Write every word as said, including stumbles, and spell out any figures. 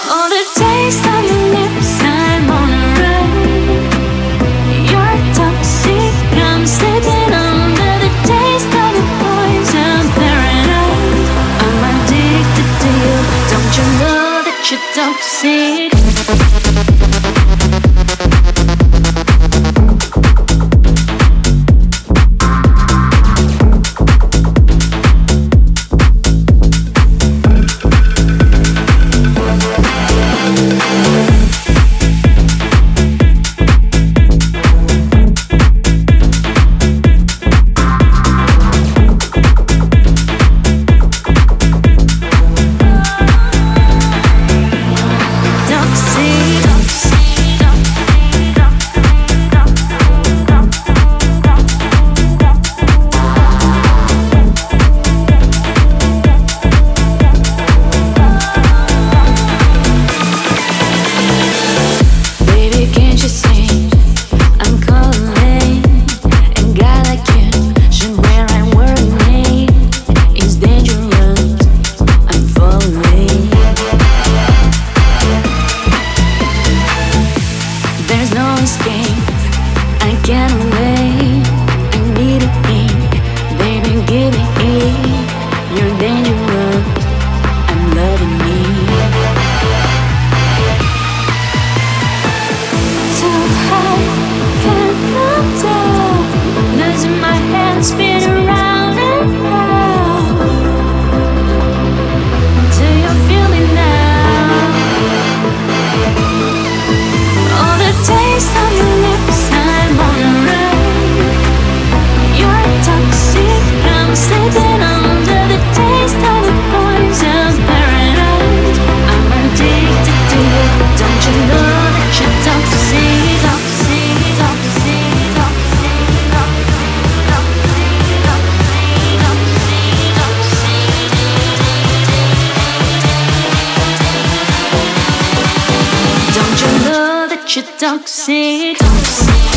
Oh, the taste of your lips, I'm on a run. You're toxic, I'm slipping under the taste of the poison paradise. I'm addicted to you, don't you know that you're toxic? You're toxic.